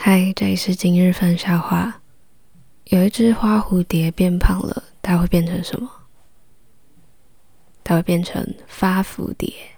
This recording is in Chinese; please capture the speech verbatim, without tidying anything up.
嗨，这里是今日份笑话。有一只花蝴蝶变胖了，它会变成什么？它会变成发蝴蝶。